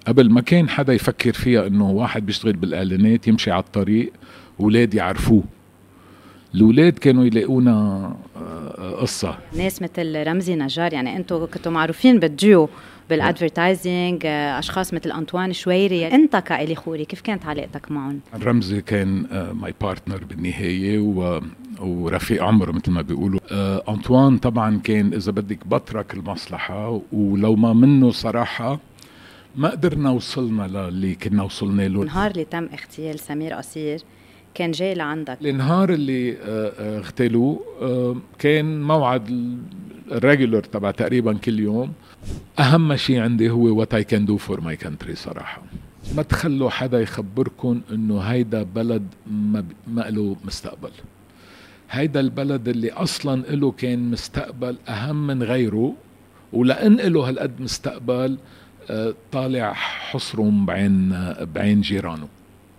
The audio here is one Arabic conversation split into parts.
قبل ما كان حدا يفكر فيها انه واحد بيشتغل بالاعلانات يمشي على الطريق اولاد يعرفوه. الاولاد كانوا يلاقونا قصة. ناس مثل رمزي نجار، يعني انتوا كنتوا معروفين بالديو بالادفرتايزنج، اشخاص مثل انطوان شويري. انت كإلي خوري كيف كانت علاقتك معهم؟ رمزي كان ماي بارتنر بالنهاية ورفيق عمر مثل ما بيقولوا. انطوان طبعا كان اذا بدك بترك المصلحة، ولو ما منه صراحة ما قدرنا وصلنا للي كنا وصلنا له. النهار اللي تم اغتيال سمير قصير كان جاي لعندك؟ النهار اللي اغتالوه كان موعد الريجولر تبع تقريبا كل يوم. اهم شيء عندي هو what I can do for my country صراحة. ما تخلوا حدا يخبركن انه هيدا بلد ما له مستقبل. هيدا البلد اللي اصلا له كان مستقبل اهم من غيره، ولأن له هالقد مستقبل طالع حصرهم بعين جيرانه.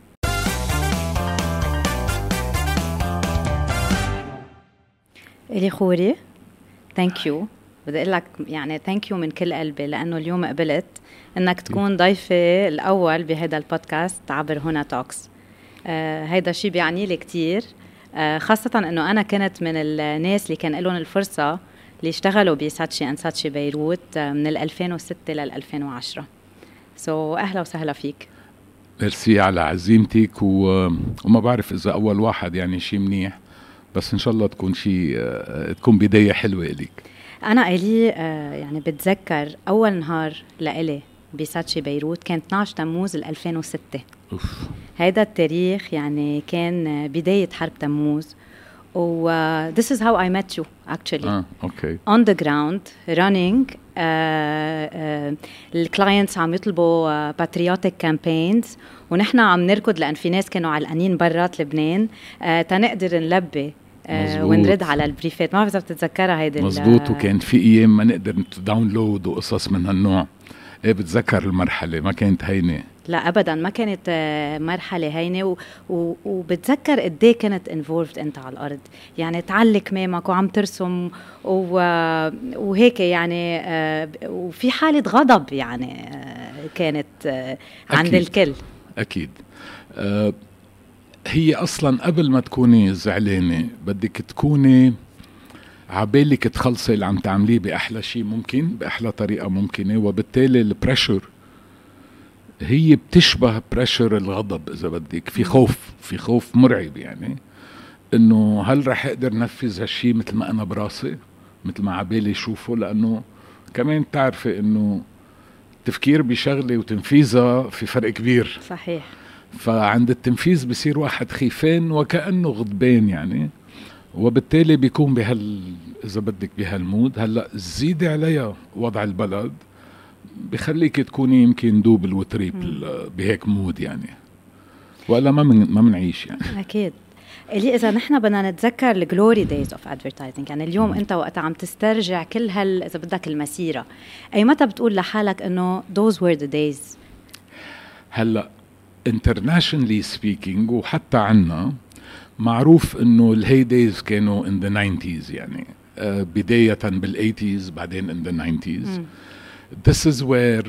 إلي خوري ثانك يو، بدي اقول لك يعني ثانك يو من كل قلبي، لانه اليوم قبلت انك تكون ضيفي الاول بهذا البودكاست عبر هنا توكس. هيدا شيء بيعني لي كتير، خاصة انه انا كنت من الناس اللي كان لهم الفرصة اللي اشتغلوا بساتشي اند ساتشي بيروت من 2006 لل 2010. اهلا وسهلا فيك. ميرسي على عزيمتك، وما بعرف اذا اول واحد يعني شيء منيح، بس ان شاء الله تكون تكون بداية حلوة لك. انا إلي يعني بتذكر اول نهار لإلي بساتشي بيروت كان 12 تموز 2006. هيدا التاريخ يعني كان بداية حرب تموز. this is how I met you actually. okay. On the ground running. الكلاينتس عم يطلبوا patriotic campaigns، ونحن عم نركض لأن في ناس كانوا علقانين برات لبنان تنقدر نلبي ونرد على البريفات. ما بعرف إذا بتتذكرها هيدي. مزبوط. وكان في أيام ما نقدر داونلود وقصص من هالنوع. بتذكر المرحلة ما كانت هينة. لا أبدا ما كانت مرحلة هينة. وبتذكر قديه كانت involved أنت على الأرض، يعني تعلق كمامك وعم ترسم وهيك يعني وفي حالة غضب يعني كانت عند أكيد. الكل. أكيد. هي أصلا قبل ما تكوني زعلانة بدك تكوني عبالك تخلصي اللي عم تعمليه بأحلى شيء ممكن، بأحلى طريقة ممكنة، وبالتالي البريشر هي بتشبه بريشر الغضب إذا بدك. في خوف مرعب، يعني إنه هل رح أقدر نفذ هالشي مثل ما أنا براسي، مثل ما عبالي شوفه، لأنه كمان تعرفي إنه التفكير بشغلة وتنفيذها في فرق كبير. صحيح. فعند التنفيذ بصير واحد خيفان وكأنه غضبان يعني، وبالتالي بيكون إذا بدك بهالمود. هلأ زيدي عليها وضع البلد بخليك تكوني يمكن دوبل وتريبل بهيك مود يعني، ولا ما منعيش يعني. أكيد. إلي إذا نحن بدنا نتذكر الجلوري دايز أوف أدفرتايزنج، يعني اليوم أنت وقت عم تسترجع كل إذا بدك المسيرة، أي متى بتقول لحالك إنه those were the days؟ هلأ internationally speaking وحتى عنا معروف إنه الهي دايز كانوا in the 90s يعني، بداية بال80s بعدين in the 90s. This is where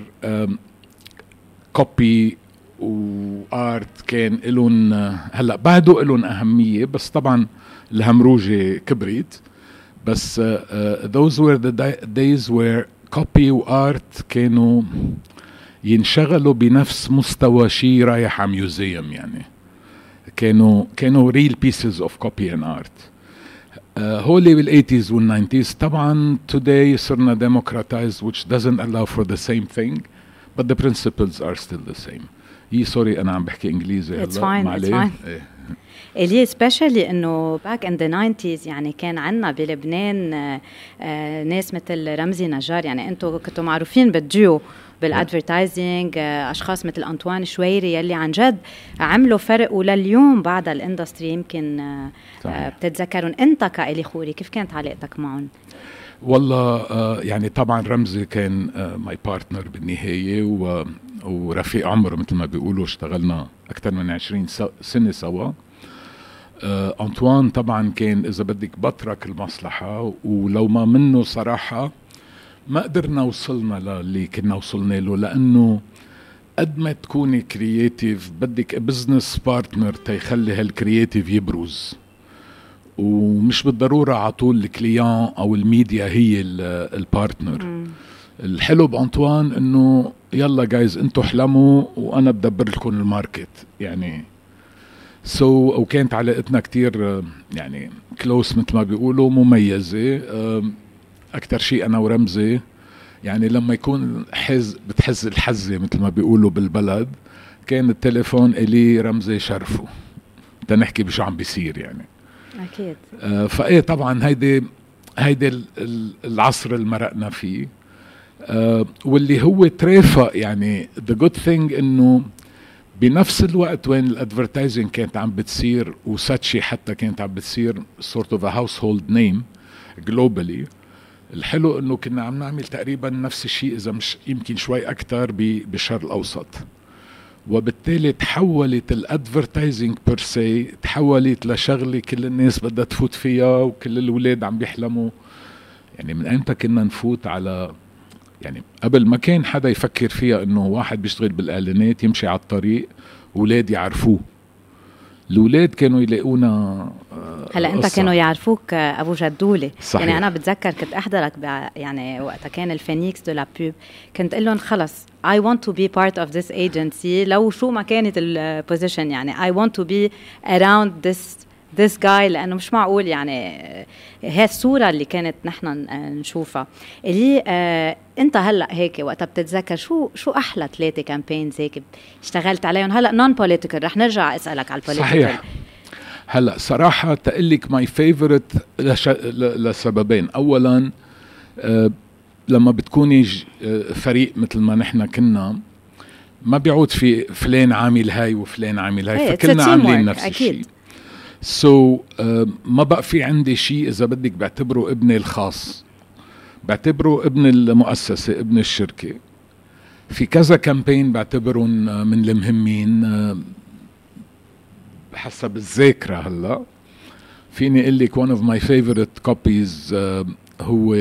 copy وارت كان لهم، هلا بعده لهم أهمية، بس طبعا الهمروجة كبرت. بس those were the days where copy وارت كانوا ينشغلوا بنفس مستوى شيء رايح على ميوزيوم يعني. كانوا real pieces of copy and art. هولي بال80s وال90s طبعا today صرنا democratized which doesn't allow for the same thing but the principles are still the same. سوري أنا عم بحكي إنجليزي. It's fine. اللي especially إنه back in the 90s يعني كان عنا بلبنان ناس مثل رمزي نجار، يعني أنتوا كنتوا معروفين بالديو بالادفرتايزنج، اشخاص مثل انطوان شويري يلي عن جد عملوا فرق، ولليوم بعد الاندستري يمكن بتتذكرون. انت كإلي خوري كيف كانت علاقتك معهم؟ والله يعني طبعا رمزي كان ماي بارتنر بالنهاية ورفيق عمر مثل ما بيقولوا، اشتغلنا أكثر من 20 سنة سوا. أنطوان طبعا كان إذا بدك بترك المصلحة، ولو ما منه صراحة ما قدرنا وصلنا للي كنا وصلنا له، لأنه قد ما تكوني كرياتيف بدك بزنس بارتنر تيخلي هالكرياتيف يبرز، ومش بالضرورة عطول الكليان أو الميديا هي البارتنر. الحلو بأنطوان إنه يلا جايز انتو احلموا وأنا بدبر لكم الماركت يعني. وكانت علاقتنا كتير يعني كلوس مثل ما بيقولوا، مميزة. أكتر شيء أنا ورمزي يعني لما يكون بتحز الحزة مثل ما بيقولوا بالبلد، كان التليفون إلي رمزي شرفه تنحكي بشو عم بيصير يعني. أكيد. فإيه طبعا هيدي العصر اللي مرقنا فيه. واللي هو ترافق يعني the good thing إنه بنفس الوقت وين الادفرتايزنج كانت عم بتصير وساتشي حتى كانت عم بتصير sort of a household name globally، الحلو انه كنا عم نعمل تقريبا نفس الشيء اذا مش يمكن شوي اكتر بالشرق الاوسط. وبالتالي تحولت الادفرتايزنج بيرسي تحولت لشغله كل الناس بدها تفوت فيها وكل الاولاد عم بيحلموا. يعني من ايمتى كنا نفوت على يعني قبل ما كان حدا يفكر فيها انه واحد بيشتغل بالاعلانات يمشي على الطريق اولاد يعرفوه. الاولاد كانوا يلاقونا هلا انت كانوا يعرفوك ابو جدولي. صحيح. يعني انا بتذكر كنت احضرك يعني وقتها كان الفينيكس دو لا بوب، كنت اقول لهم خلص I want to be part of this agency لو شو ما كانت البوزيشن، يعني I want to be around this guy، لأنه مش معقول يعني هي الصورة اللي كانت نحن نشوفها. اللي انت هلأ هيك وقتها بتتذكر شو أحلى 3 كامبينز هيك اشتغلت عليهم؟ هلأ نون بوليتيكال، رح نرجع أسألك على البوليتيكال. صحيح. هلأ صراحة تقلك ماي فيفورت لسببين. أولا لما بتكوني فريق مثل ما نحن كنا، ما بيعود في فلان عامل هاي وفلان عامل هاي، فكلنا عاملين نفس الشيء. ما بقى في عندي شيء إذا بدك بعتبره ابني الخاص، بعتبره ابن المؤسسة، ابن الشركة. في كذا كامبين بعتبرهم من المهمين حسب الذاكرة. هلا فيني اقول لك one of my favorite copies هو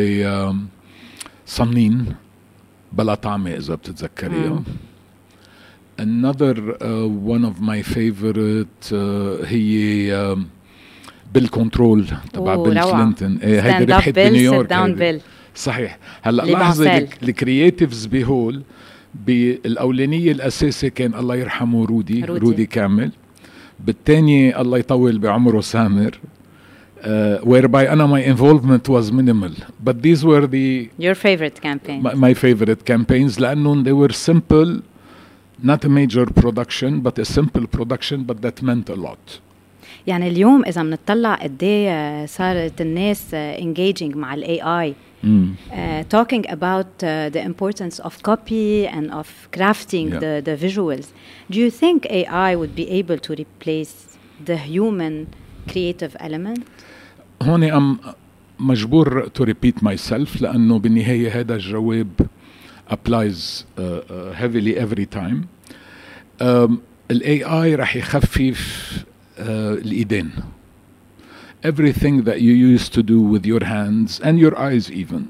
صنين بلا طعمة إذا بتتذكريها. another one of my favorite هي بالكنترول تبع بيل كلينتون. هيدي ربحت بنيويورك. صحيح. هلا لاحظي الكرياتيفز بهول بالاولانيه الاساسي كان الله يرحمه رودي كامل، بالثانيه الله يطول بعمره سامر، whereby أنا my involvement was minimal, but these were your favorite campaigns. my favorite campaigns لأنه they were simple, not a major production but a simple production, but that meant a lot. يعني اليوم إذا بنطلع قديه صارت الناس engaging مع ال AI, talking about the importance of copy and of crafting the visuals. Do you think AI would be able to replace the human creative element? هون أم مجبور to repeat myself لأنه بالنهاية هذا الجواب applies heavily every time. ال AI رح يخفف الإيدين. Everything that you used to do with your hands and your eyes even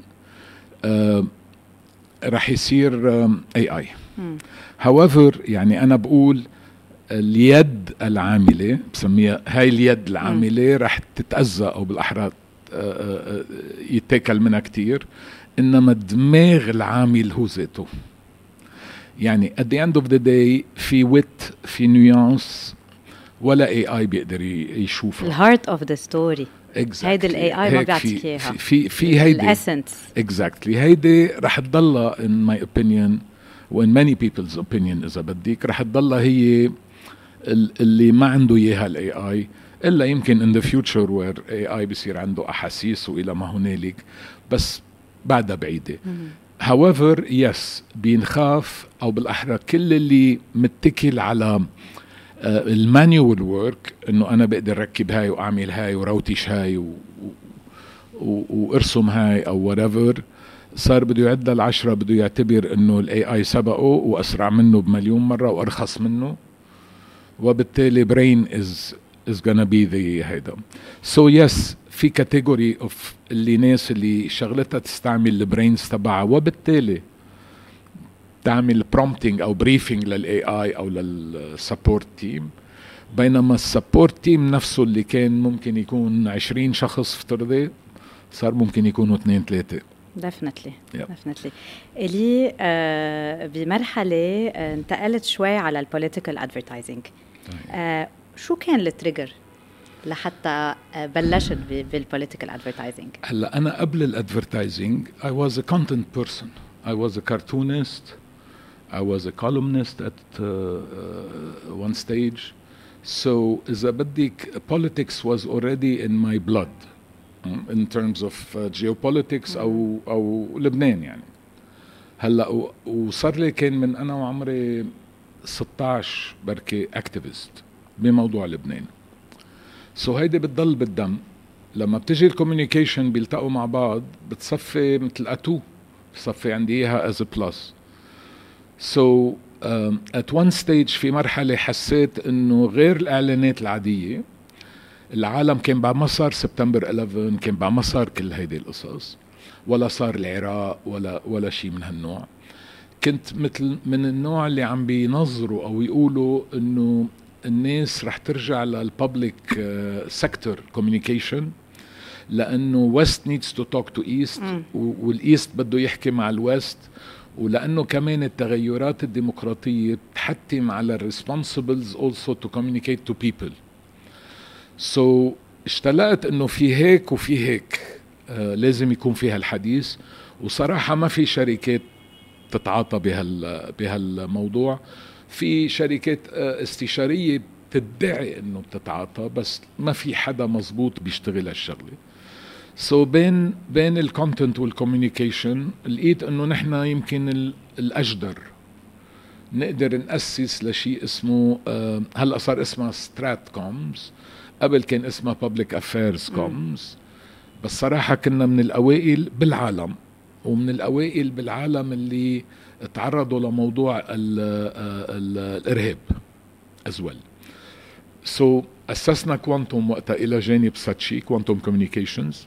رح يصير AI. However يعني أنا بقول اليد العاملة بسميها هاي اليد العاملة رح تتأذى أو بالأحرى يتاكل منها كتير، إنما الدماغ العامل هو ذاته. يعني at the end of the day في wit في نيوانس ولا AI بيقدر يشوفها. الهارت اوف ذا ستوري. هيدي الاي اي ما بيعطيك اياها. في هيدي الاسنس. exactly هيدي رح تضلها in my opinion و in many people's opinion إذا بدك رح تضلها هي اللي ما عنده اياها الاي اي، الا يمكن in the future where AI بيصير عنده احاسيس والى ما هنالك، بس بعدها بعيدة. however yes بينخاف او بالاحرى كل اللي متكل على المانيوال وورك، انه انا بقدر ركب هاي واعمل هاي وروتش هاي وارسم هاي او whatever، صار بده يعد لل10 بده يعتبر انه الاي اي سبقه واسرع منه بمليون مرة وارخص منه، وبالتالي brain is gonna be the هيدا. so yes في كاتيجوري اوف اللي ناس اللي شغلتها تستعمل البرينز تبعها، وبالتالي تعمل prompting او briefing للاي اي او للسبورت تيم، بينما السبورت تيم نفسه اللي كان ممكن يكون 20 شخص افترضي صار ممكن يكونوا 2-3. definitely. اللي بمرحلة انتقلت شوي على البوليتيكال ادفرتايزنج. شو كان التريجر لحتى بلشت بالبوليتيكال ادفرتايزنج؟ هلا انا قبل الادفرتايزنج I was a content person. I was a cartoonist. I was a columnist at one stage. So إذا بدك politics was already in my blood in terms of geopolitics أو لبنان يعني. هلا وصار لي كان من أنا وعمري 16 بركي activist بموضوع لبنان. So هيدي بتضل بالدم. لما بتجي الكوميونيكيشن بيلتقوا مع بعض بتصفي مثل أتو، بتصفي عندي إياها as a plus. So at one stage في مرحلة حسيت إنه غير الإعلانات العادية، العالم كان بعد ما صار سبتمبر 11 كان بعد ما صار كل هيدي القصص، ولا صار العراق ولا شيء من هالنوع. كنت مثل من النوع اللي عم بينظروا أو يقولوا إنه الناس رح ترجع للبابليك سيكتور كوميونيكيشن، لأنه West needs to talk to East والإيست بده يحكي مع الويست، ولأنه كمان التغيرات الديمقراطية بتحتم على الريسبونسبلز also to communicate to people. So اشتلقت انه في هيك وفي هيك لازم يكون فيها الحديث، وصراحة ما في شركات تتعاطى بهالموضوع. في شركات استشارية بتدعي انه بتتعاطى، بس ما في حدا مزبوط بيشتغل هالشغلة. So بين الكونتنت والكوميونيكيشن لقيت انه نحن يمكن الأجدر نقدر نأسس لشيء اسمه هلأ صار اسمها سترات كومز، قبل كان اسمها Public Affairs Comms. بس صراحة كنا من الأوائل بالعالم ومن الأوائل بالعالم اللي تعرضوا لموضوع الإرهاب as well. So أسسنا كوانتوم وقتها إلى جانب ساتشي كوانتوم كوميونيكيشنز،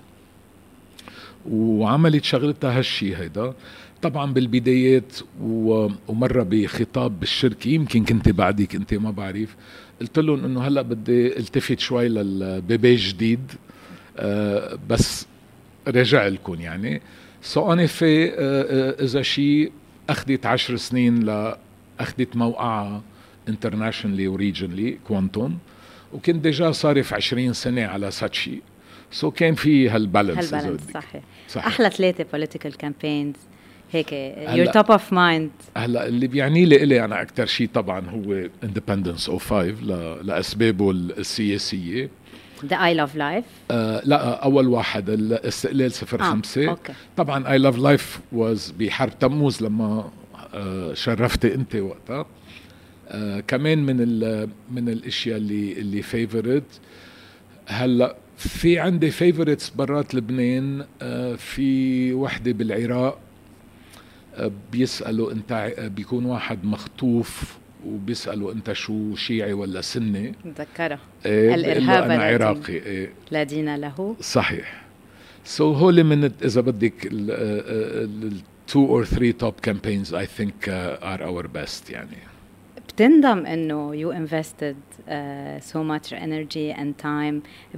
وعملت شغلتها هالشي هيدا طبعا بالبدايات. ومرة بخطاب بالشركة يمكن كنت بعديك انت ما بعرف، قلت لهم انه هلأ بدي التفت شوي للبيبي جديد بس رجع لكم يعني. سو أنا في إذا شيء أخذت 10 سنين لأخذت موقعها internationally وريجنلي كوانتوم، وكنت ديجا صارف 20 سنة على ساتشي. سو كان في هالبالانس. صحيح. أحلى 3 political campaigns هيك your top of mind. هلا اللي بيعني لي أنا أكتر شيء طبعا هو Independence 05 لأسبابه السياسية. The I Love Life. لا أول واحد الاستقلال 05. طبعا I Love Life was بحرب تموز لما شرفتي أنت وقتها. كمان من الاشياء اللي فيفورت. هلا في عندي فيفورتس برات لبنان. في وحده بالعراق بيسالوا انت، بيكون واحد مخطوف وبيسالوا انت شو شيعي ولا سني. متذكره الارهاب انا عراقي لا دين له. صحيح. سو هول من اذا بدك ال 2 or 3 top campaigns I think are our best يعني. بتندم انه you invested so much energy and time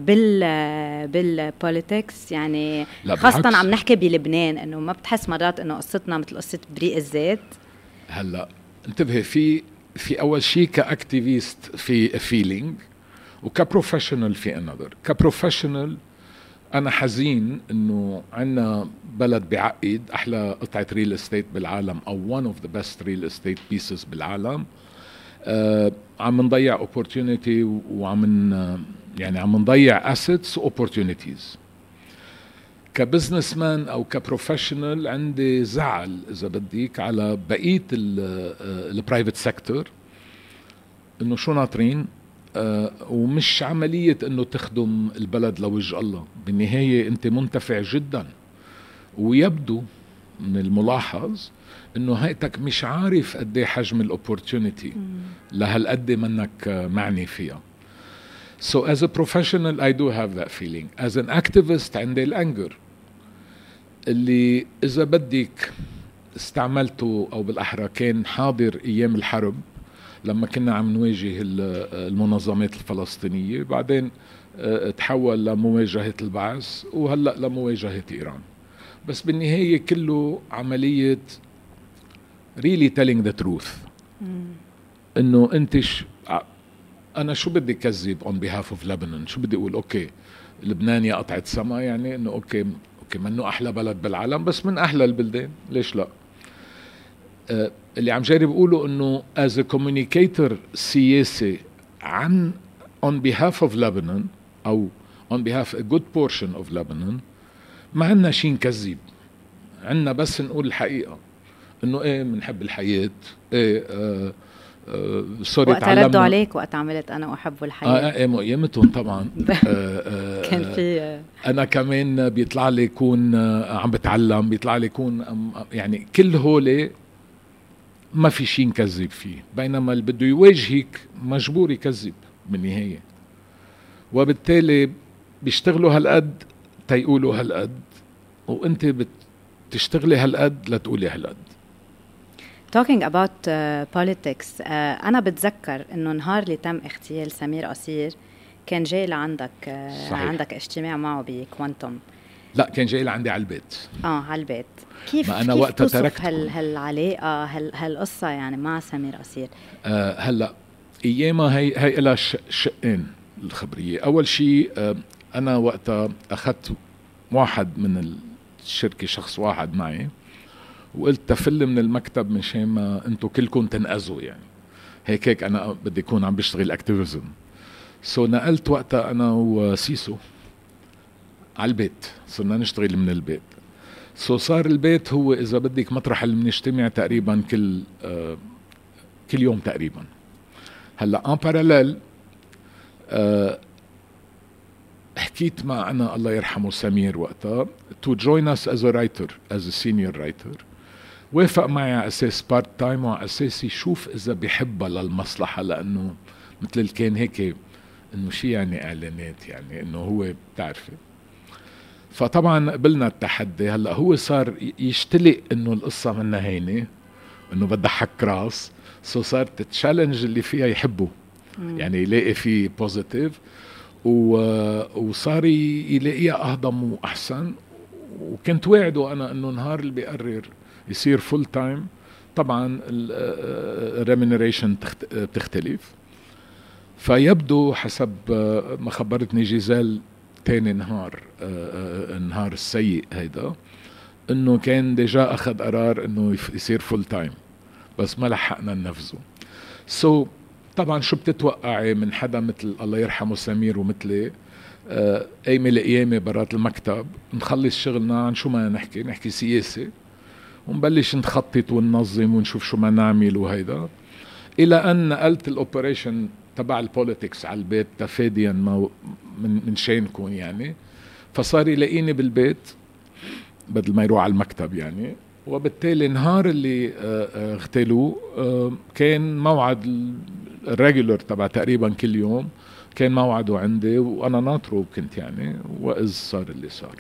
بالpolitics يعني، خاصة عم نحكي بلبنان، انه ما بتحس مرات انه قصتنا مثل قصة بريق الزيت؟ هلا انتبهي، في اول شيء كاكتيفيست في فيلينج، وكبروفيشنال في انذر. كبروفيشنال انا حزين انه عنا بلد بعقد احلى قطعة ريل استيت بالعالم او one of the best real estate pieces بالعالم. عم نضيع opportunity يعني عم نضيع assets و opportunities. كبزنس مان او كبروفيشنال عندي زعل اذا بديك على بقية البرايفت سيكتور، انه شو ناطرين ومش عملية انه تخدم البلد لوجه الله. بالنهاية انت منتفع جدا، ويبدو من الملاحظ انه هيئتك مش عارف قد ايه حجم الاوبورتونيتي لهالقد منك معني فيها. So as a professional I do have that feeling. As an activist عندي الانجر اللي اذا بدك استعملته او بالاحرى كان حاضر ايام الحرب لما كنا عم نواجه المنظمات الفلسطينية، بعدين تحول لمواجهة البعث، وهلأ لمواجهة إيران. بس بالنهاية كله عملية really telling the truth. إنه أنت أنا شو بدي كذب on behalf of Lebanon؟ شو بدي أقول؟ أوكي لبنان يا قطعة سما، يعني إنه أوكي منه أحلى بلد بالعالم بس من أحلى البلدان، ليش لا؟ اللي عم جارب أقوله إنه as a communicator سياسي عن on behalf of Lebanon أو on behalf a good portion of Lebanon، ما عنا شي نكذب، عنا بس نقول الحقيقة إنه إيه منحب الحياة، إيه سوري وقت ردوا عليك وقت عملت أنا أحب الحياة. إيه مقيمتهم طبعا. كان في أنا كمان بيطلع لي يكون عم بتعلم، بيطلع لي يكون يعني كل هولي ما في شيء نكذب فيه، بينما اللي بده يواجهك مجبور يكذب بالنهاية، وبالتالي بيشتغلوا هالقد تيقولوا هالقد، وانت بتشتغلي هالقد لتقولي هالقد. Talking about politics، أنا بتذكر إنه نهار اللي تم اغتيال سمير قصير كان جاي لعندك، عندك اجتماع معه بكوانتوم. لا كان جاي لعندي على البيت. على البيت. كيف ما أنا وقتها تركت هالعلاقة هالقصة يعني مع سمير قصير؟ هلا ايامها هي لها شقين الخبرية. اول شيء انا وقتها اخذت واحد من الشركة، شخص واحد معي، وقلت تفل من المكتب مشان ما انتو كلكم تنقذوا، يعني هيك انا بدي اكون عم بشتغل اكتيفيزم. نقلت وقتها انا وسيسو على البيت، صرنا نشتغل من البيت. صار البيت هو اذا بدك مطرح اللي بنجتمع تقريبا كل يوم تقريبا. هلا ان باراليل حكيت مع أنا الله يرحمه سمير وقتها to join us as a writer, as a senior writer. وافق معي على أساس بارت تايم، وعلى أساس يشوف إذا بيحبها للمصلحة، لأنه مثل كان هيك إنه شي يعني إعلانات، يعني إنه هو بتعرفي. فطبعا قبلنا التحدي. هلا هو صار يشتلق إنه القصة منها هينة، إنه بدها حك راس، صارت التشالنج اللي فيها يحبه، يعني يلاقي فيه بوزيتيف، وصار يلاقيها أهضم وأحسن. وكنت واعده أنا أنه نهار اللي بيقرر يصير فول تايم طبعا الريمينريشن بتختلف. فيبدو حسب ما خبرتني جيزال تاني نهار النهار السيء هيدا، أنه كان ديجا أخذ قرار أنه يصير فول تايم، بس ما لحقنا ننفذه. طبعا شو بتتوقعي من حدا مثل الله يرحمه سمير ومثلي؟ قايمة لقيامة برات المكتب، نخلص شغلنا عن شو ما نحكي سياسة، ونبلش نخطط وننظم ونشوف شو ما نعمل وهيدا، إلى أن نقلت الأوبريشن تبع البوليتكس على البيت تفاديا من شينكم يعني. فصار يلاقيني بالبيت بدل ما يروح على المكتب يعني. وبالتالي نهار اللي اغتالوه كان موعد الريجولر تبع تقريبا كل يوم، كان موعده عندي وانا ناطره كنت يعني، واذ صار اللي صار.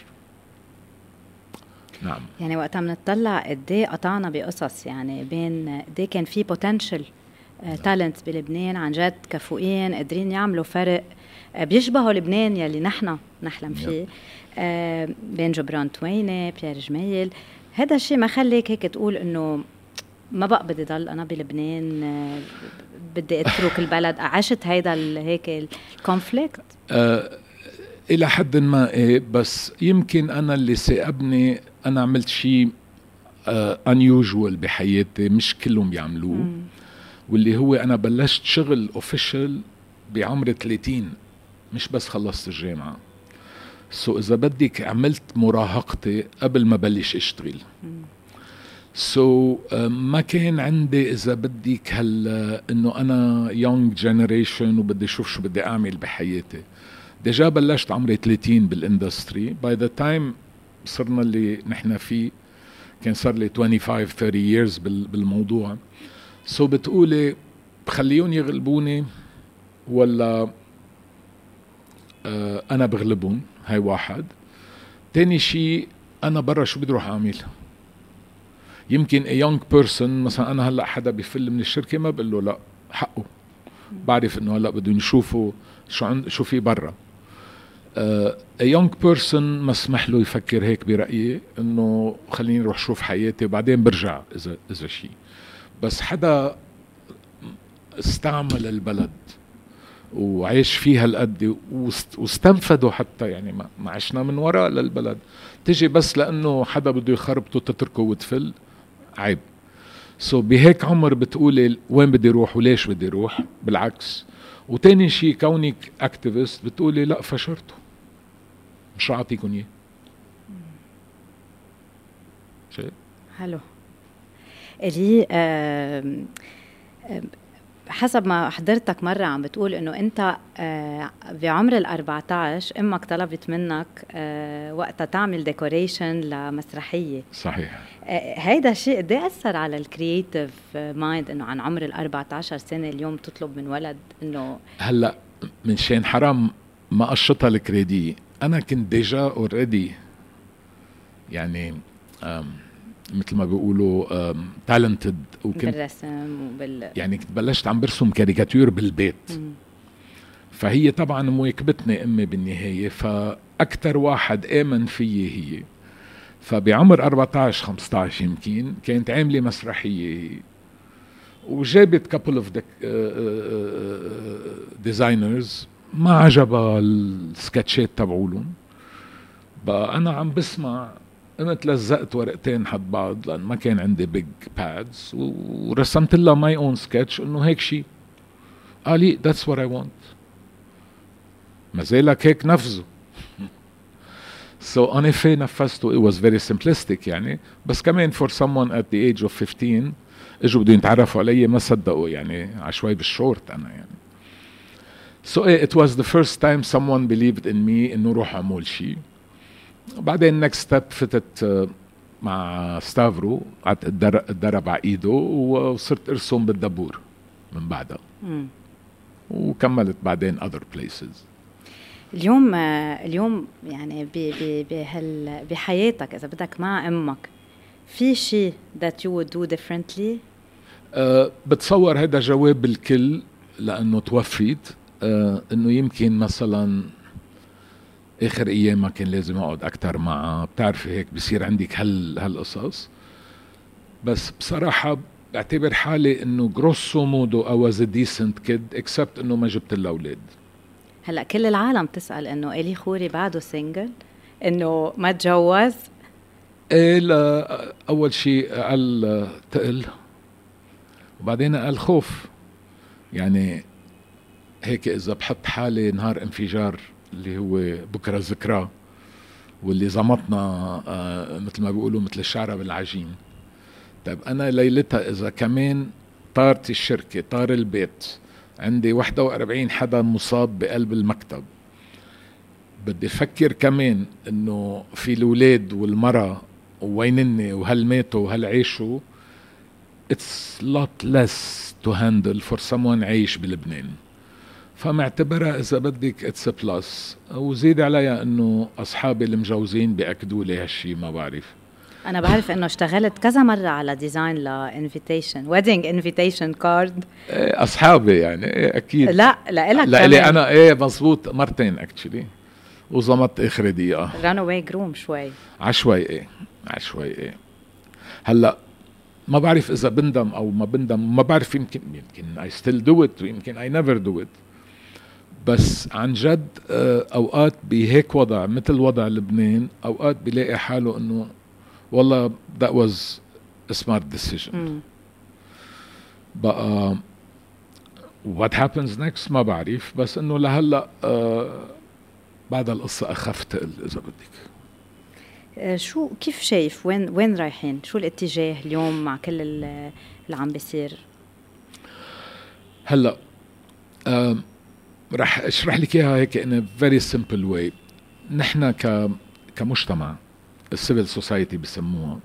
نعم. يعني وقتها بنطلع قد ايه قطعنا بقصص، يعني بين قد ايه كان في بوتنشل تالنت بلبنان عن جد كفؤين قادرين يعملوا فرق، بيشبهوا لبنان يلي نحن نحلم فيه، بين جبران توينة، بيير جميل. هذا الشيء ما خليك هيك تقول انه ما بقى بدي ضل انا بلبنان، بدي اترك البلد؟ عشت هيدا هيك الكونفليكت؟ الى حد ما ايه، بس يمكن انا اللي سأبني انا عملت شيء unusual بحياتي مش كلهم بيعملوه، واللي هو انا بلشت شغل اوفيشال بعمر 30، مش بس خلصت الجامعة. إذا بدك عملت مراهقتي قبل ما بلش اشتغل. ما كان عندي إذا بدك إنه أنا young generation وبدي أشوف شو بدي أعمل بحياتي. ديجا بلشت عمري 30 بالاندستري. by the time صرنا اللي نحن فيه كان صار لي 25-30 years بالموضوع. بتقولي بخليون يغلبوني ولا أنا بغلبهم؟ هاي واحد. تاني شيء أنا برا شو بدي روح أعمل؟ يمكن a young person مثلا أنا هلأ حدا بيفل من الشركة ما بقول له لا حقه، بعرف إنه هلأ بدهم يشوفوا شو في برا. a young person ما اسمح له يفكر هيك برأيي إنه خليني أروح شوف حياتي وبعدين برجع إذا شيء. بس حدا استعمل البلد وعيش فيها القد واستنفدوا حتى، يعني ما عشنا من وراء للبلد، تجي بس لأنه حدا بده يخربطه تتركه وتفل، عيب. بهيك عمر بتقولي وين بدي روح وليش بدي روح، بالعكس. وتاني شيء كونك اكتيفيست بتقولي لا فشرته مش رح اعطيكم اياه. شيء حلو. اللي حسب ما حضرتك مرة عم بتقول إنه أنت بعمر 14 أمك طلبت منك وقتها تعمل ديكوريشن لمسرحية. صحيح. هيدا الشيء قد ايه أثر على الكرييتيف مايند إنه عن عمر 14 سنة اليوم تطلب من ولد إنه هلا من شان حرام ما قشطها الكريدي، أنا كنت ديجا اوريدي يعني مثل ما بيقولوا تالنتد، وكنت بالرسم يعني كنت بلشت عم برسم كاريكاتير بالبيت. فهي طبعا مواكبتني امي بالنهايه، فاكثر واحد امن فيي هي. فبعمر 14 15 يمكن كانت عامله مسرحيه وجابت كابل اوف ديزاينرز، ما عجبها السكتشات تبعولهم. بقى انا عم بسمع، قمت لزقت ورقتين حد بعض لأن ما كان عندي بيج بادز، ورسمت لها ماي اون سكتش انه هيك شيء. قال لي that's what I want. ما زالك هيك نفذه. en effet نفذته. it was very simplistic يعني، بس كمان for someone at the age of 15 اجوا بدهم يتعرفوا علي ما صدقوا يعني عشوائي بالشورت انا يعني. it was the first time someone believed in me انه روح اعمل شيء. بعدين next step فتت مع ستافرو، قعدت اتدرب على ايده وصرت ارسم بالدبور من بعدها. وكملت بعدين other places. اليوم يعني بحياتك اذا بدك مع امك في شيء that you would do differently؟ بتصور هذا جواب الكل لانه توفيت. انه يمكن مثلا اخر ايام ما كان لازم اقعد اكتر معها، بتعرفي هيك بصير عندك هالقصص. بس بصراحة بعتبر حالي انه grosso modo I was a decent kid except انه ما جبت لها اولاد. هلا كل العالم تسأل انه إلي خوري بعده سينجل، انه ما تجوز. ايه لا، اول شيء قال تقل وبعدين قال خوف. يعني هيك اذا بحط حالي نهار انفجار اللي هو بكرة ذكرى واللي زمطنا مثل ما بيقولوا مثل الشعرة بالعجين، طيب أنا ليلتها إذا كمان طارت الشركة طار البيت عندي 41 حدا مصاب بقلب المكتب، بدي أفكر كمان إنه في الولاد والمرأة ووينني وهل ماتوا وهل عيشوا. It's lot less to handle for someone عايش بلبنان. فمعتبرها إذا بدك اتس بلس. وزيد عليها إنه أصحابي المجوزين بيأكدوا لي هالشي. ما بعرف، أنا بعرف إنه اشتغلت كذا مرة على ديزاين لإنفيتيشن ويدنج إنفيتيشن كارد. أصحابي يعني أكيد. لا لإلك لا لي أنا مزبوط مرتين أكتشلي وزمت آخر دقيقة رانوي جروم شوي عشوائي. هلأ ما بعرف إذا بندم أو ما بندم، ما بعرف، يمكن I still do it ويمكن I never do it. بس عن جد أوقات بهيك وضع مثل وضع لبنان أوقات بلاقي حاله إنه والله that was a smart decision. بقى what happens next ما بعرف، بس إنه لهلأ بعد القصة أخفت إذا بدك. شو كيف شايف وين رايحين؟ شو الاتجاه اليوم مع كل اللي عم بيصير؟ هلا رح اشرح لك اياها هيك in a very simple way. نحن كمجتمع السيفل سوسايتي بسموها،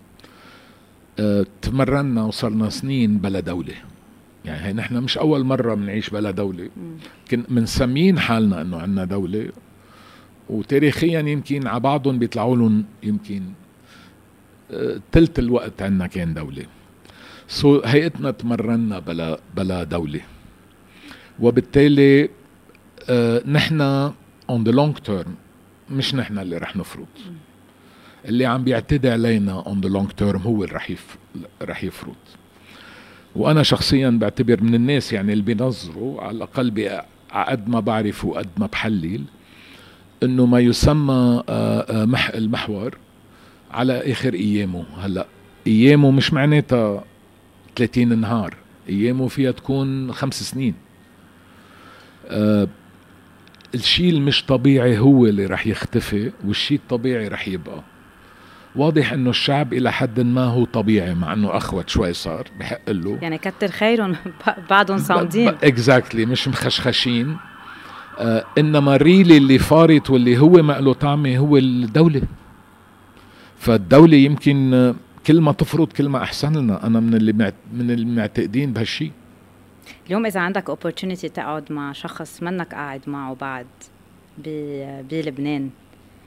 تمرنا وصلنا سنين بلا دولة. يعني هي نحن مش اول مرة بنعيش بلا دولة، منسمين حالنا انه عنا دولة، وتاريخيا يمكن على بعضهم بيطلعوا لهم يمكن تلت الوقت عنا كان دولة. هيئتنا تمرنا بلا دولة، وبالتالي نحن on the long term مش نحن اللي رح نفرض. اللي عم بيعتدي علينا on the long term هو اللي رح يفرض. وأنا شخصيا بعتبر من الناس يعني اللي بينظروا على الأقل قد ما بعرف وقد ما بحلل إنه ما يسمى المحور على آخر أيامه. هلأ أيامه مش معناتها 30 نهار، أيامه فيها تكون 5 سنين. الشيء المش طبيعي هو اللي رح يختفي والشيء الطبيعي رح يبقى. واضح انه الشعب الى حد ما هو طبيعي، مع انه اخوت شوي صار بحق له، يعني كتر خيرهم بعضهم صامدين اكزاكتلي مش مخشخشين. انما ريلي اللي فارط واللي هو ما له طعمه هو الدولة. فالدولة يمكن كل ما تفرض كل ما احسن لنا. انا من المعتقدين بهالشيء. اليوم اذا عندك opportunity تقعد مع شخص منك قاعد معه بعد بلبنان،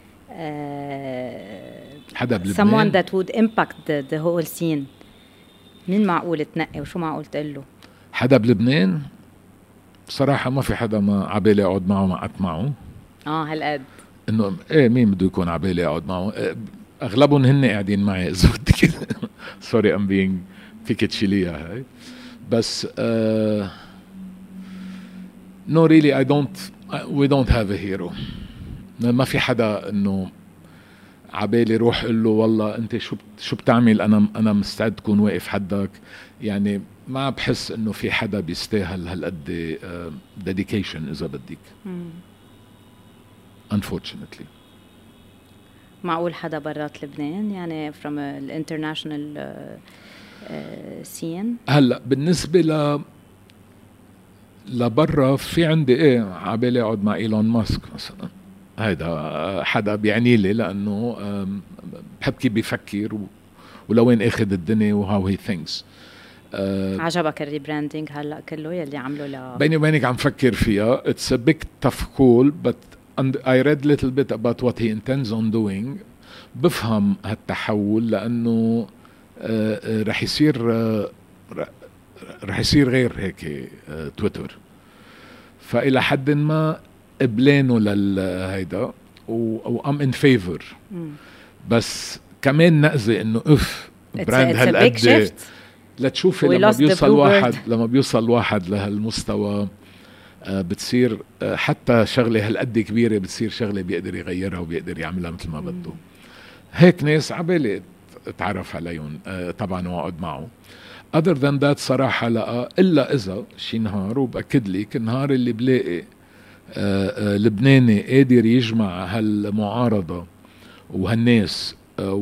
حدا بلبنان someone that would impact the whole scene، مين معقول تنقي وشو معقول تقول له؟ حدا بلبنان بصراحة ما في حدا ما عبالي اقعد معه ما قعدت معه. هالقد انه ايه مين بده يكون عبالي اقعد معه؟ اغلبهم هن قاعدين معي اذا بدك. سوري ام بينج، فيك تشيليها هاي. بس no really we don't have a hero. ما في حدا انه عبالي روح قل له والله انت شو بتعمل انا مستعد تكون واقف حدك. يعني ما بحس انه في حدا بيستاهل هالقد dedication اذا بدك. unfortunately. معقول حدا برات لبنان يعني from the international scene؟ هلا بالنسبة لبرا في عندي عبالي اقعد مع ايلون ماسك مثلا. هيدا حدا بيعني لي لانه بحب كيف بيفكر ولوين اخذ الدنيا وهاو هي ثينكس. عجبك الريبراندينج هلا كله يلي عمله بيني وبينك عم فكر فيها. It's a big tough call but I read little bit about what he intends on doing. بفهم هالتحول لانه رح يصير غير هيك تويتر. فإلى حد ما قبلانه للهيدا وام ان فيفور. بس كمان نقزي انه براند هالقد لتشوفي لما بيوصل واحد لهالمستوى بتصير حتى شغله هالقد كبيره بتصير شغله بيقدر يغيرها وبيقدر يعملها مثل ما بده. هيك ناس عبالي اتعرف عليهم طبعا واقعد معه. other than that صراحه لا، الا اذا شي نهار، وبأكد لك النهار اللي بلاقي لبناني قادر يجمع هالمعارضة وهالناس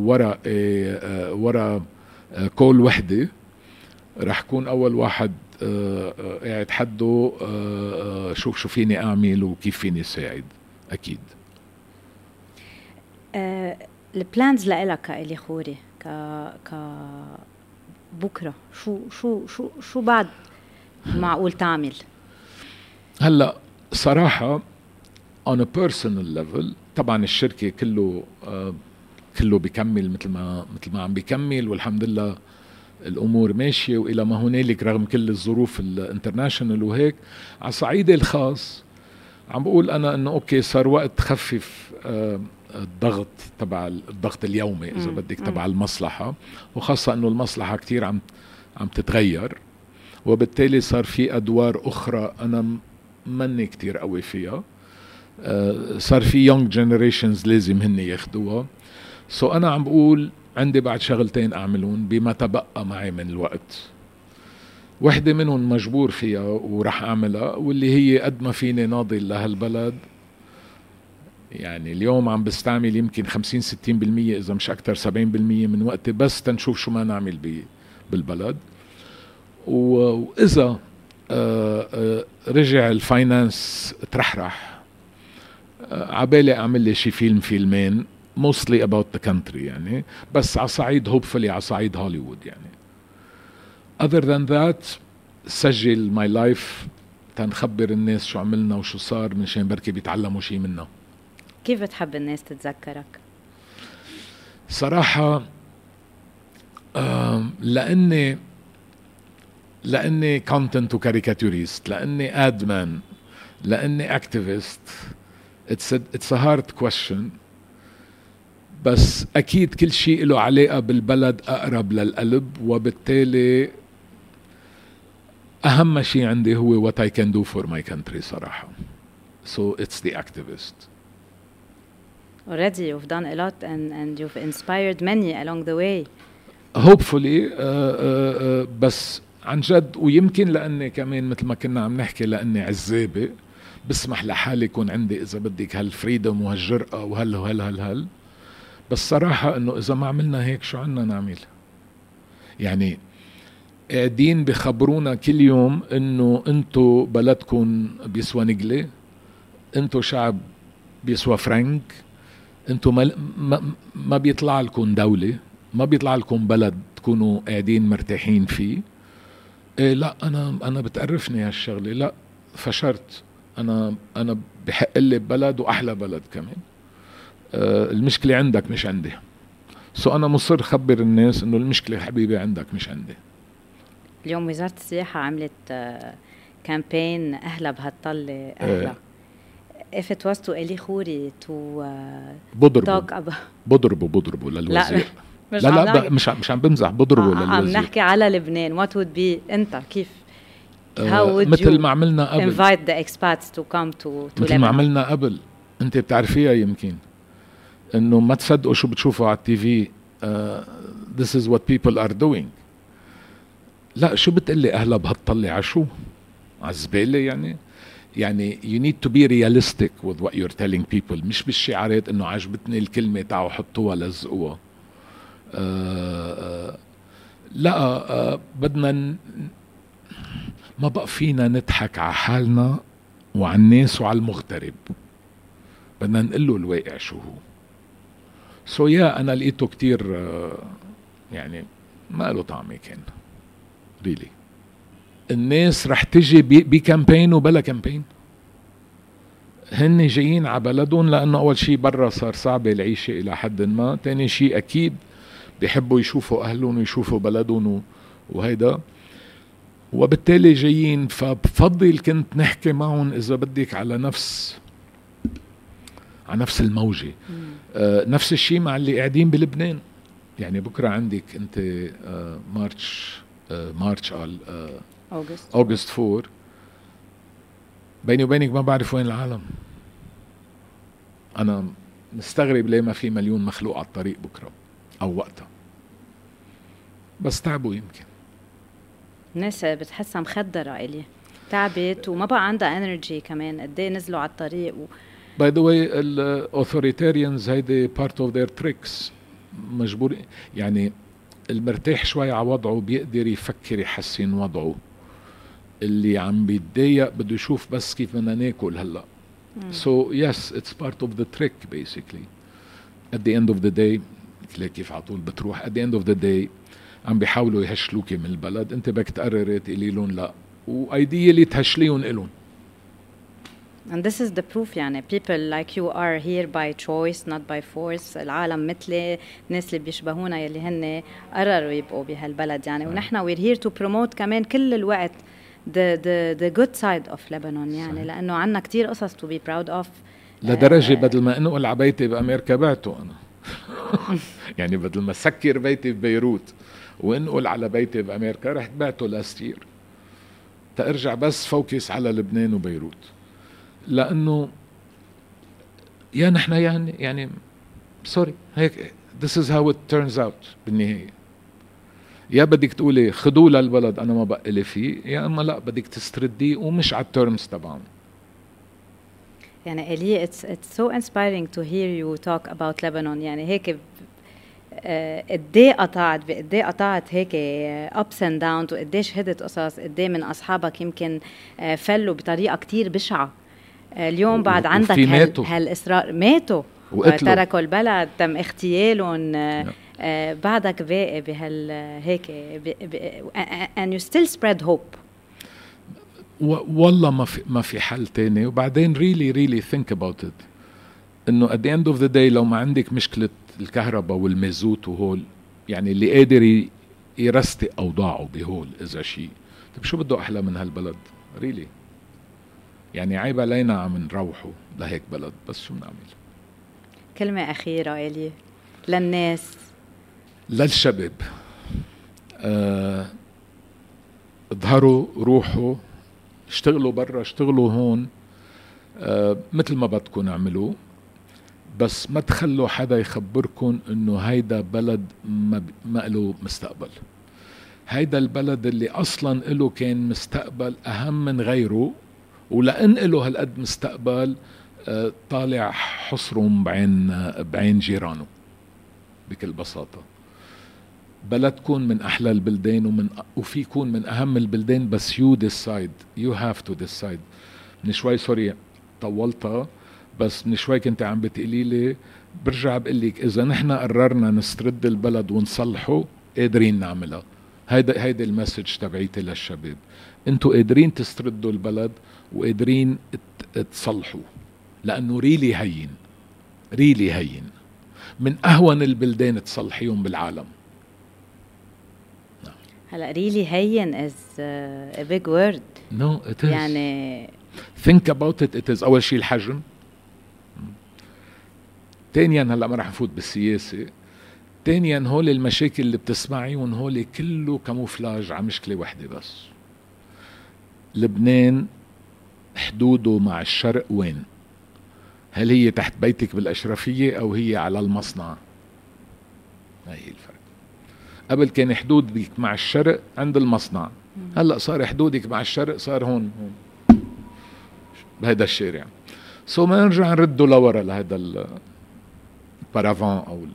ورا كل وحدة، رح كون أول واحد قاعد حده شوف شو فيني أعمل وكيف فيني ساعد. أكيد. البلانز لإلك كإلي خوري بكرة شو بعد معقول تعمل؟ هلأ صراحة on a personal level طبعا الشركة كله بيكمل مثل ما عم بيكمل والحمد لله الأمور ماشية وإلى ما هنالك رغم كل الظروف الانترناشنال. وهيك على صعيدي الخاص عم بقول أنا إنه أوكي صار وقت خفف الضغط اليومي إذا بدك تبع المصلحة، وخاصة إنه المصلحة كتير عم تتغير، وبالتالي صار في أدوار أخرى أنا مني كتير قوي فيها. صار في young generations لازم هن ياخدوها. أنا عم بقول عندي بعد شغلتين أعملون بما تبقى معي من الوقت. واحدة منهم مجبور فيها ورح أعملها، واللي هي قد ما فيني ناضل لهالبلد. يعني اليوم عم بستعمل يمكن 50-60% إذا مش أكتر 70% من وقتي بس تنشوف شو ما نعمل بالبلد. وإذا رجع الفاينانس ترحرح عبالي أعمل لي شي فيلمين mostly about the country يعني، بس على صعيد hopefully على صعيد هوليوود يعني. other than that سجل my life تنخبر الناس شو عملنا وشو صار منشان بركي بيتعلموا شي منا. كيف بتحب الناس تتذكرك؟ صراحة لاني كونتنت وكاريكاتوريست، لاني ادمان، لاني اكتيفيست. it's a hard question، بس اكيد كل شيء له علاقه بالبلد اقرب للقلب، وبالتالي اهم شيء عندي هو what I can do for my country صراحه. So it's the activist. Already you've done a lot and you've inspired many along the way. Hopefully. بس عن جد، ويمكن لأني كمان مثل ما كنا عم نحكي لأني عزابي بسمح لحالي يكون عندي إذا بدك هالفريدم وهالجرأة وهل بس صراحة إنه إذا ما عملنا هيك شو عنا نعمل؟ يعني قاعدين بخبرونا كل يوم إنه أنتو بلدكم بيسوى نقلة، أنتو شعب بيسوى فرنك، أنتو ما بيطلع لكم دولة، ما بيطلع لكم بلد تكونوا قاعدين مرتاحين فيه. إيه لا، أنا بتقرفني هالشغلة، لا فشرت، أنا بحق لي ببلد وأحلى بلد كمان. المشكلة عندك مش عندي. أنا مصر خبر الناس إنه المشكلة حبيبي عندك مش عندي. اليوم وزارة السياحة عملت كامبين أهلا بهالطلة أهلا. If it was to إلي خوري to بضربوا للوزير. لا مش عم بمزح، بضربوا للوزير. عم نحكي على لبنان. What would be أنت كيف how would مثل you ما عملنا قبل invite the expats to come to مثل ما عملنا قبل. أنت بتعرفيها يمكن، إنه ما تصدقوا شو بتشوفوا على التي في. This is what people are doing. لا شو بتقلي أهلا بهالطلة عشو عزبالة يعني you need to be realistic with what you're telling people، مش بالشعارات إنه عجبتني الكلمة تعوا حطوها لزقوها. لا بدنا ما بقى فينا نضحك على حالنا وعلى الناس وعلى المغترب، بدنا نقله الواقع شو هو. أنا لقيته كتير يعني ما له طعمي كان ريلي. الناس رح تجي بكامبين وبلا كامبين، هن جايين على بلدهم لأنه أول شيء برا صار صعب العيشة إلى حد ما، تاني شيء أكيد بيحبوا يشوفوا أهلهم ويشوفوا بلدهم وهيدا، وبالتالي جايين. فبفضل كنت نحكي معهم إذا بدك على نفس الموجة. نفس الشيء مع اللي قاعدين بلبنان. يعني بكرة عندك أنت مارش أوغست 4. بيني وبينك ما بعرف وين العالم. أنا مستغرب ليه ما في مليون مخلوق على الطريق بكرة أو وقتها، بس تعبوا يمكن. الناس بتحسها مخدرة إلي، تعبت وما بقى عندها انرجي كمان. قديه نزلوا على الطريق By the way الأوثوريتاريانز هيدي part of their tricks. مجبور يعني المرتاح شوي على وضعه بيقدر يفكر يحسن وضعه، اللي عم بيتضايق بده يشوف بس كيف بدنا ناكل هلا. So yes, it's part of the trick basically. At the end of the day كيف عطول بتروح at the end of the day عم بيحاولوا يهشلوكي من البلد، انت بدك تقرري تقولي لهم لا، وايديالي تهشليهم إلهم. And this is the proof. يعني people like you are here by choice not by force. العالم مثلي، الناس اللي بيشبهونا يلي هن قرروا يبقوا بهالبلد يعني. ونحن we're here to promote كمان كل الوقت the good side of Lebanon يعني. لأنه عنا كتير قصص to be proud of. لدرجة بدل ما انقل على بيتي بأمريكا بعته أنا. يعني بدل ما سكر بيتي ببيروت وانقل على بيتي بأمريكا رحت بعته لاستير تأرجع بس فوكس على لبنان وبيروت. لأنه يا نحن يعني سوري هيك this is how it turns out بالنهاية. يا بدك تقولي خدوه للبلد أنا ما بقى لي فيه، يا أما لا بدك تسترديه ومش على التيرمز تبعهم. يعني إلي it's so inspiring to hear you talk about Lebanon. يعني هيك قديه قطعت هيك ups and downs، وقديه شهدت قصص، قديه من أصحابك يمكن فلوا بطريقة كتير بشعة. اليوم بعد عندك هالإصرار ماتوا تركوا البلد، تم اغتيالهم. بعدك باقي بهال هيك and you still spread hope. والله ما في حل تاني. وبعدين really think about it إنه at the end of the day لو ما عندك مشكلة الكهرباء والمازوت وهول، يعني اللي قادر يرستق أوضاعه بهول إذا شيء. طيب شو بده أحلى من هالبلد ريلي؟ يعني عيب علينا عم نروحوا لهيك بلد، بس شو بنعمل؟ كلمة أخيرة إلي للناس، للشباب، اظهروا، روحوا، اشتغلوا برا، اشتغلوا هون، مثل ما بدكم اعملوا، بس ما تخلوا حدا يخبركن انه هيدا بلد ما له مستقبل. هيدا البلد اللي اصلا له كان مستقبل اهم من غيره، ولأن له هالقد مستقبل طالع حصرهم بعين جيرانه بكل بساطة. بلدكن من أحلى البلدان وفي يكون من أهم البلدان، بس you decide, you have to decide. من شوي سوري طولتها، بس من شوي كنت عم بتقولي لي، برجع بقلك إذا نحن قررنا نسترد البلد ونصلحه قادرين نعملها. هيدا المسج تبعيتي للشباب، انتوا قادرين تستردوا البلد وقادرين تصلحوا، لأنه ريلي هين من أهون البلدان تصلحيهم بالعالم. هلا ريلي هين is a big word. No, it is. يعني think about it. It is أول شيء الحجم. تانيا هلا ما رح نفوت بالسياسة. تانيا هول المشاكل اللي بتسمعيهم هول كله كاموفلاج على مشكلة واحدة بس. لبنان حدوده مع الشرق وين؟ هل هي تحت بيتك بالأشرفية أو هي على المصنع؟ هاي الفرق. قبل كان حدودك مع الشرق عند المصنع، هلأ صار حدودك مع الشرق صار هون بهذا الشارع. ما نرجع نرده لورا لهذا البارافان أو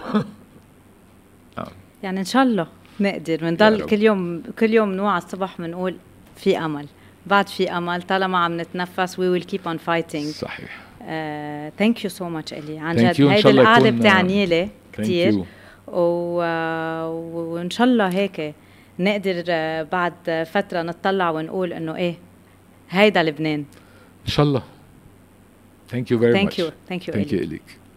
يعني إن شاء الله نقدر بنضل كل يوم نوع الصبح بنقول في أمل، بعد في أمل طالما عم نتنفس. we will keep on fighting. صحيح. thank you so much إلي عن جد. هيدي القعدة بتعني لي كتير، وإن شاء الله هيك نقدر بعد فترة نطلع ونقول إنه إيه هيدا لبنان إن شاء الله. thank you very much. thank you إليك.